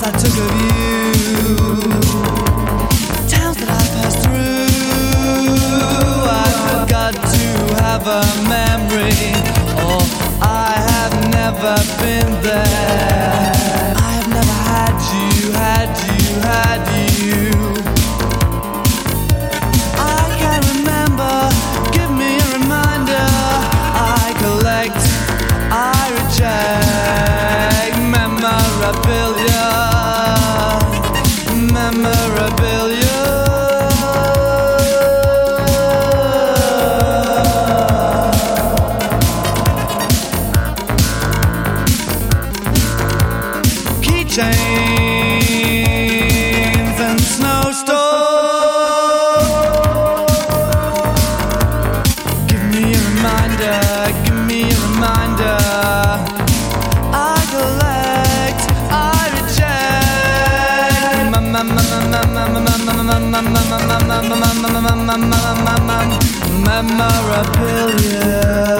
I took of you, towns that I passed through. I forgot to have a memory. Oh, I have never been there. I have never had you, had you, had you. I can't remember. Give me a reminder. I collect, I reject memorabilia, memorabilia. Keychains and snowstorms. Give me a reminder, give me a reminder. I collect, I reject memorabilia.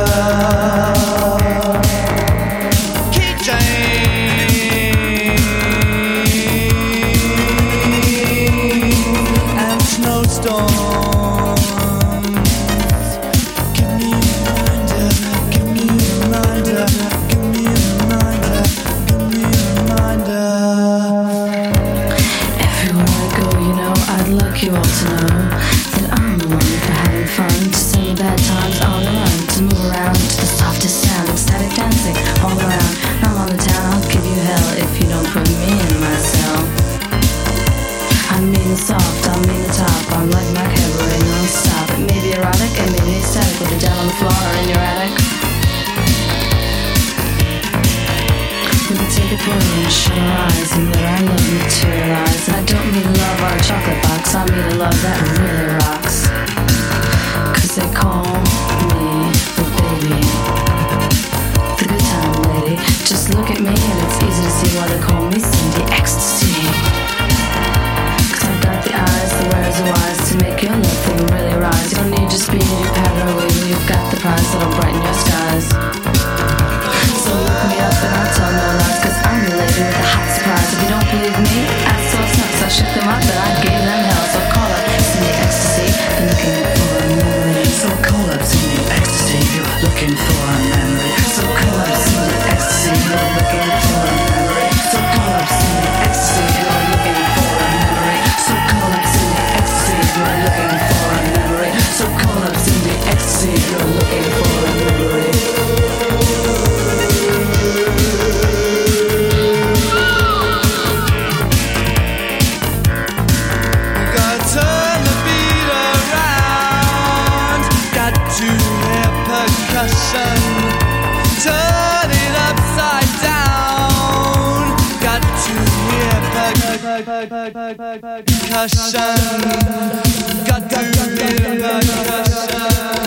You all to know that I'm the one for having fun, to sing the bad times on the run, to move around to the softest sound, ecstatic dancing all around. I'm on the town, I'll give you hell if you don't put me in my cell. I mean the soft, I mean the top, I'm like my cabaret non-stop. It may be erotic, it may be ecstatic, with it down on the floor or in your attic. We can take a pill and shut our eyes and let our love materialize. And I don't mean love or a chocolate box, I mean a love that really rocks. Cause they call me the baby, the good time lady. Just look at me and it's easy to see why they call me Cindy Ecstasy. Cause I've got the eyes, the where's the whys to make your love thing really rise. You don't need your speed and your powder away when you've got the prize that'll brighten your skies. So look me up and I'll tell no lies, cause I'm the lady with the hot surprise. If you don't believe me, ask those nuts. I shook them up and I gave them hell. So call up Cindy Ecstasy, you're looking for a memory. So call up Cindy Ecstasy, you're looking for a memory. So call up Cindy Ecstasy, you're looking for a memory. So call up Cindy Ecstasy, you're looking for a memory. So call up Cindy Ecstasy, you're looking for a memory. So call up Cindy Ecstasy, you're looking for a memory. Turn it upside down. Got to hear percussion. Got to hear percussion.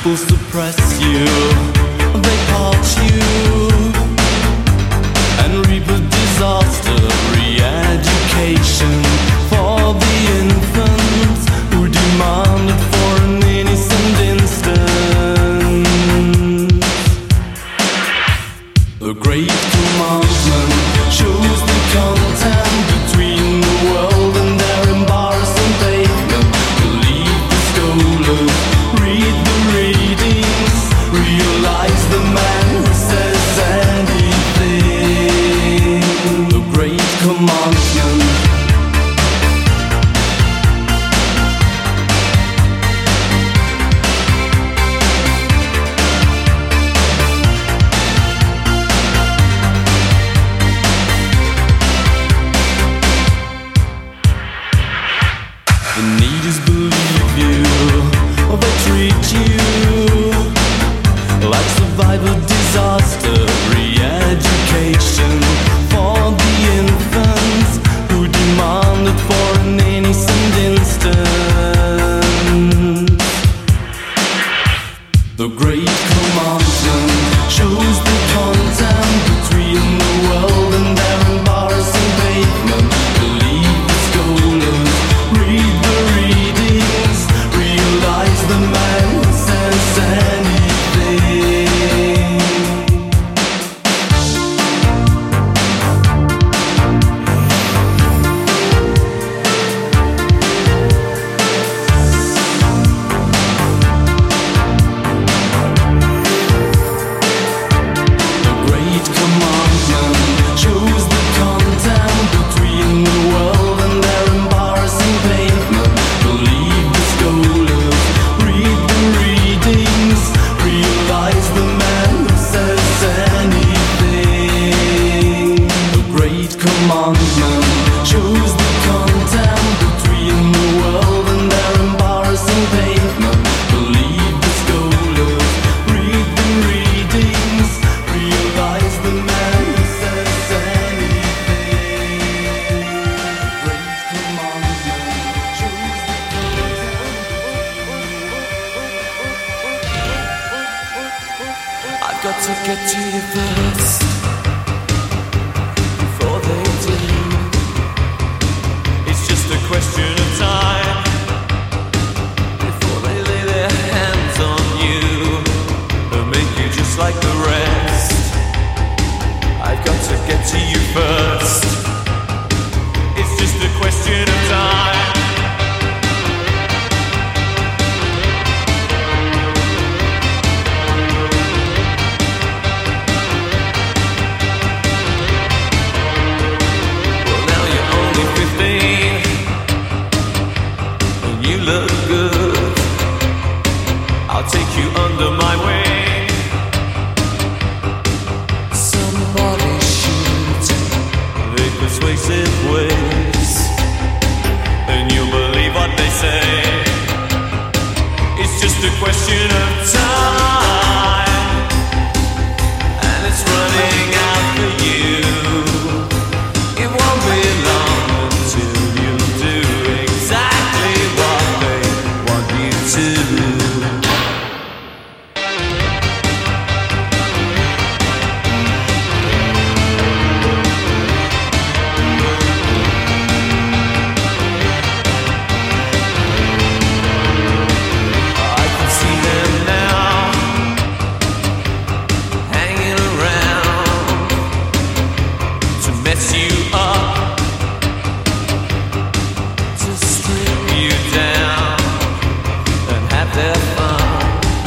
people suppress you, they part you and reap a disaster. Re-education for the infants who demanded for an innocent instant. The great commandment shows the content between the world and their embarrassing pavement. Believe the scholars, read the readings, realize the man who says anything. The great commandment. The need is believe you, or they treat you like survivor disaster. Re-education for the infants who demanded for an innocent instant. The great commandment shows the content between the world and their embarrassing pavement. Believe the scholars, read the readings, realize the man who says anything. The great commandment shows the content between the world and their embarrassing pavement. Believe the scholars, read the readings, realize the man who says anything. The great commandment shows the content between the world and their embarrassing pavement. Believe the scholars, read the readings, realize the man who says anything. The great commandment shows the content. I've got to get to you first before they do. It's just a question of time before they lay their hands on you and make you just like the rest. I've got to get to you first. It's just a question of time. Well, now you're only 15 and you look good. I'll take you under my wing. Somebody shoot the persuasive ways, and you'll believe what they say. It's just a question of time, and it's running out for you. It won't be long until you do exactly what they want you to. I can see them now, hanging around to mess you up, to strip you down and have their fun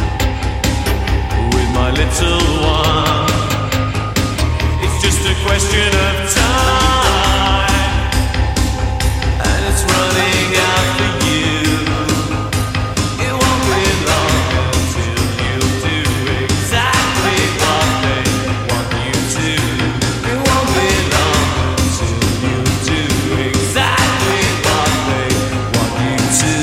with my little one. It's just a question of time, and it's running out for you. It won't be long until you do exactly what they want you to. It won't be long until you do exactly what they want you to.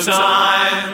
time.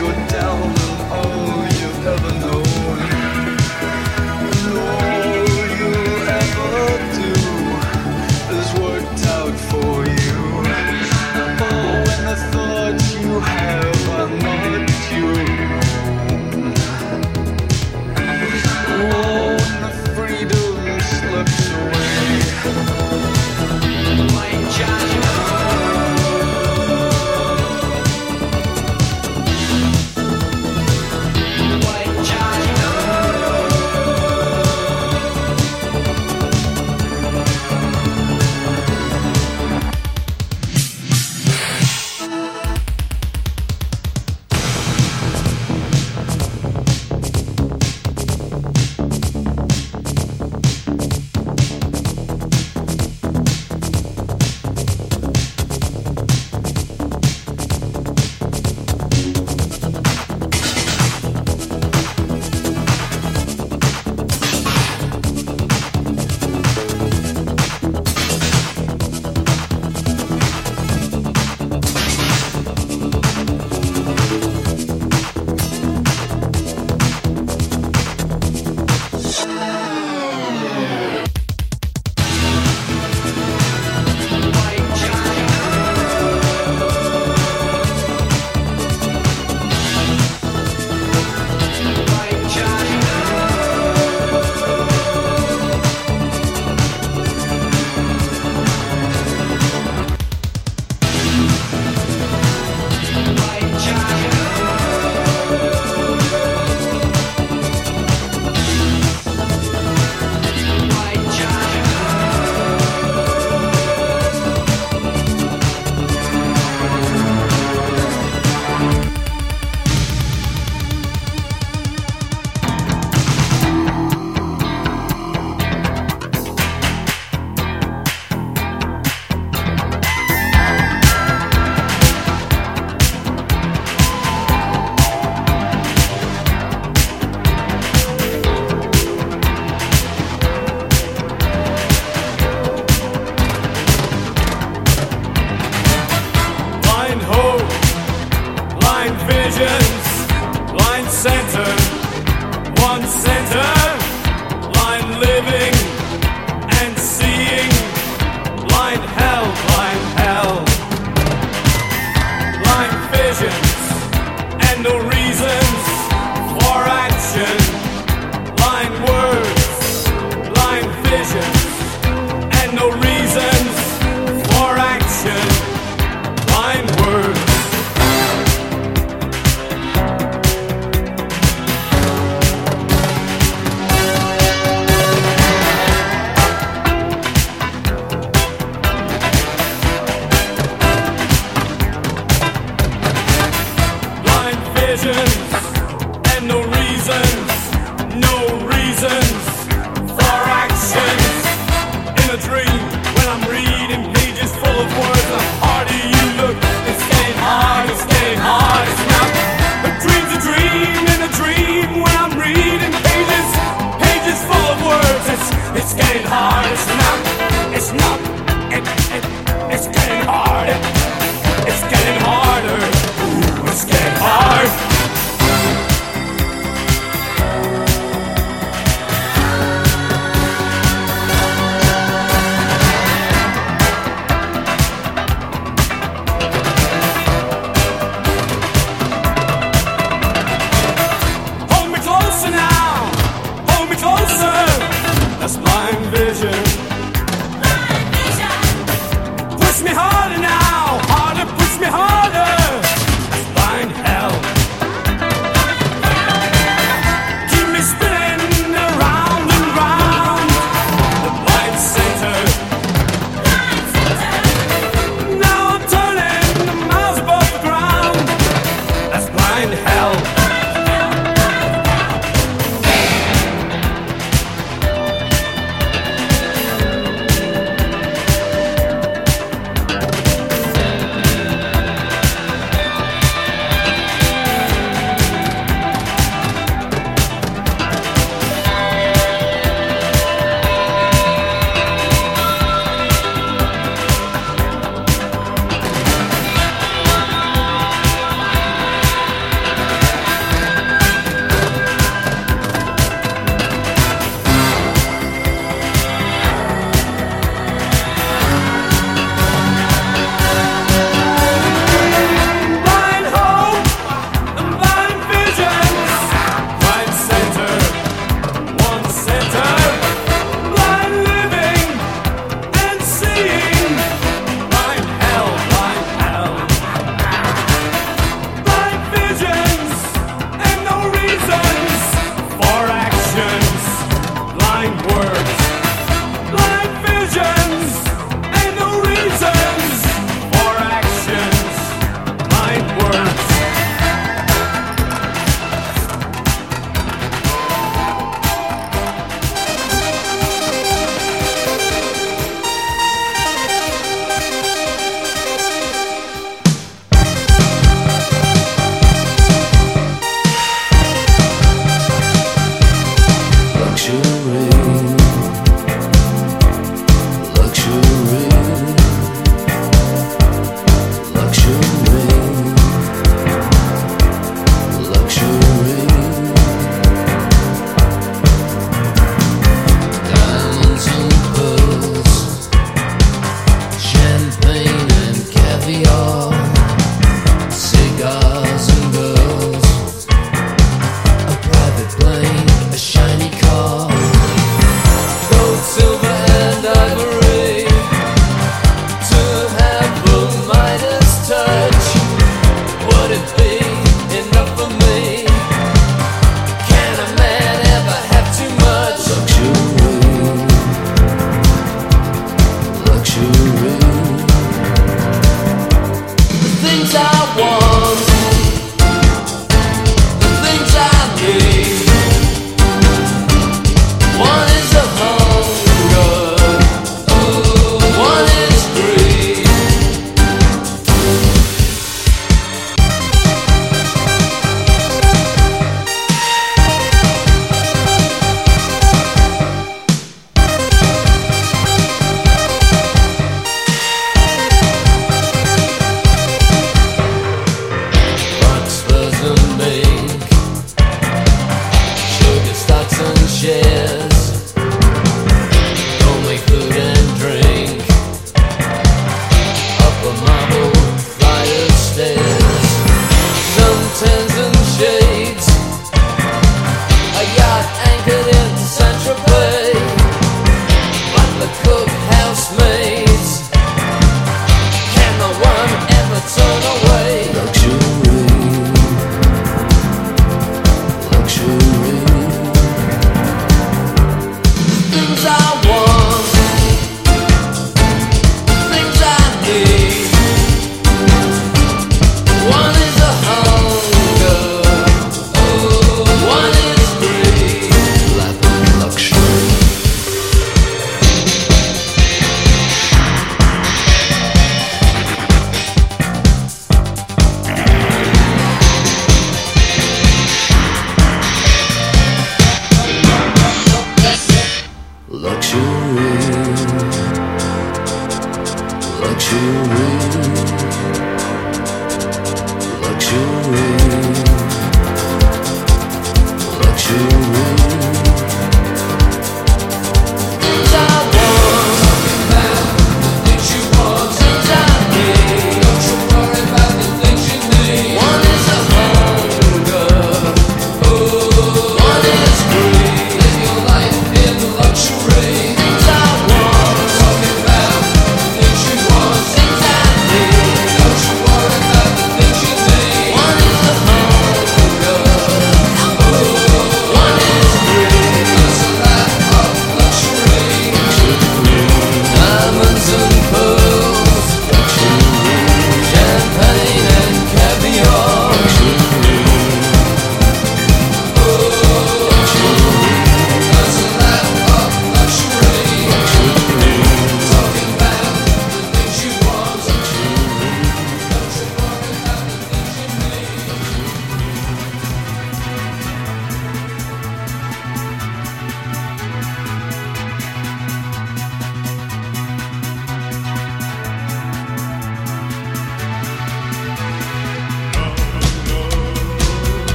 go down on all you've ever known. And all you'll ever do is worked out for you. Oh, when the thoughts you have are not your own. Oh, when the freedom slips away. White Johnny.